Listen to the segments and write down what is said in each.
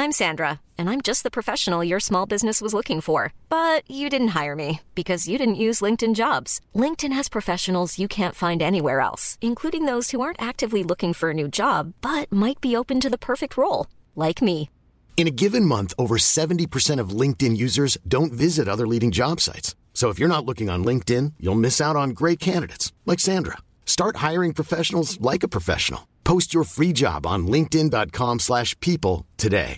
I'm Sandra, and I'm just the professional your small business was looking for. But you didn't hire me because you didn't use LinkedIn Jobs. LinkedIn has professionals you can't find anywhere else, including those who aren't actively looking for a new job, but might be open to the perfect role, like me. In a given month, over 70% of LinkedIn users don't visit other leading job sites. So if you're not looking on LinkedIn, you'll miss out on great candidates like Sandra. Start hiring professionals like a professional. Post your free job on linkedin.com/people today.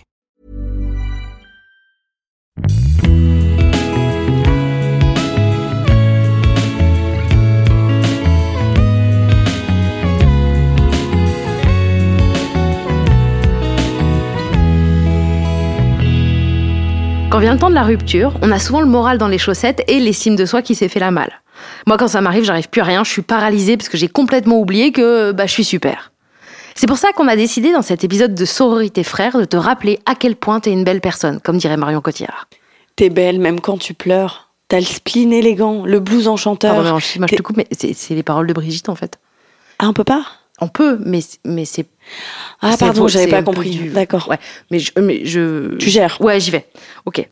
Quand vient le temps de la rupture, on a souvent le moral dans les chaussettes et l'estime de soi qui s'est fait la malle. Moi, quand ça m'arrive, j'arrive plus à rien, je suis paralysée parce que j'ai complètement oublié que je suis super. C'est pour ça qu'on a décidé dans cet épisode de Sororité Frères de te rappeler à quel point t'es une belle personne, comme dirait Marion Cotillard. T'es belle même quand tu pleures. T'as le spleen élégant, le blues enchanteur. Pardon, moi je te coupe, mais c'est les paroles de Brigitte en fait. Ah, on peut pas ? On peut, mais c'est... Ah c'est pardon, faux, j'avais c'est pas un peu compris. D'accord. Ouais, mais je... Tu gères. Ouais, j'y vais. Ok.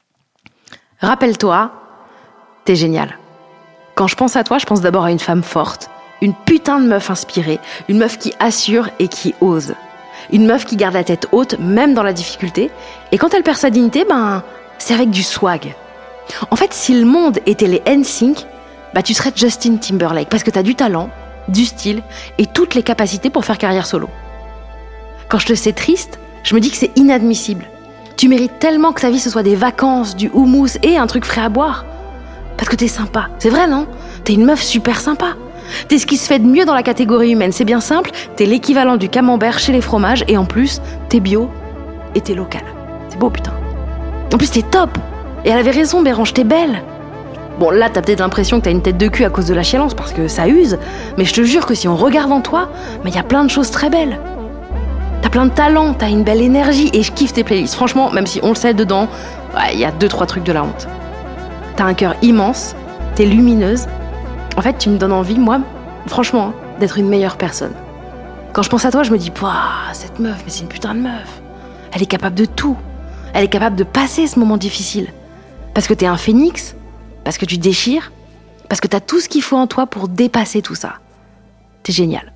Rappelle-toi, t'es géniale. Quand je pense à toi, je pense d'abord à une femme forte, une putain de meuf inspirée, une meuf qui assure et qui ose. Une meuf qui garde la tête haute, même dans la difficulté. Et quand elle perd sa dignité, c'est avec du swag. En fait, si le monde était les NSYNC, tu serais Justin Timberlake, parce que t'as du talent, du style et toutes les capacités pour faire carrière solo. Quand je te sais triste, je me dis que c'est inadmissible. Tu mérites tellement que ta vie ce soit des vacances, du houmous et un truc frais à boire. Parce que t'es sympa. C'est vrai, non ? T'es une meuf super sympa. T'es ce qui se fait de mieux dans la catégorie humaine. C'est bien simple, t'es l'équivalent du camembert chez les fromages et en plus, t'es bio et t'es local. C'est beau, putain. En plus, t'es top. Et elle avait raison, Bérange, t'es belle. Bon, là, t'as peut-être l'impression que t'as une tête de cul à cause de la chialence parce que ça use, mais je te jure que si on regarde en toi, y a plein de choses très belles. T'as plein de talent, t'as une belle énergie et je kiffe tes playlists. Franchement, même si on le sait dedans, y a 2-3 trucs de la honte. T'as un cœur immense, t'es lumineuse. En fait, tu me donnes envie, moi, franchement, d'être une meilleure personne. Quand je pense à toi, je me dis, cette meuf, mais c'est une putain de meuf. Elle est capable de tout. Elle est capable de passer ce moment difficile. Parce que t'es un phénix, parce que tu déchires, parce que t'as tout ce qu'il faut en toi pour dépasser tout ça. T'es génial.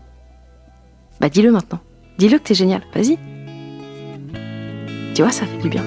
Dis-le maintenant. Dis-le que t'es génial. Vas-y. Tu vois, ça fait du bien.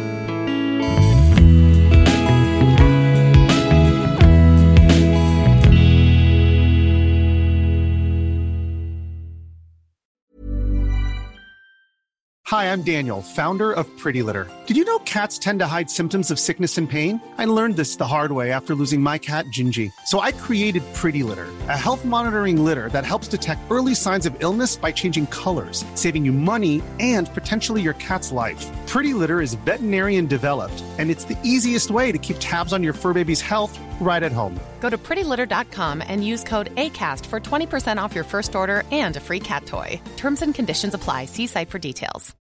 Hi, I'm Daniel, founder of Pretty Litter. Did you know cats tend to hide symptoms of sickness and pain? I learned this the hard way after losing my cat, Gingy. So I created Pretty Litter, a health monitoring litter that helps detect early signs of illness by changing colors, saving you money and potentially your cat's life. Pretty Litter is veterinarian developed, and it's the easiest way to keep tabs on your fur baby's health right at home. Go to prettylitter.com and use code ACAST for 20% off your first order and a free cat toy. Terms and conditions apply. See site for details.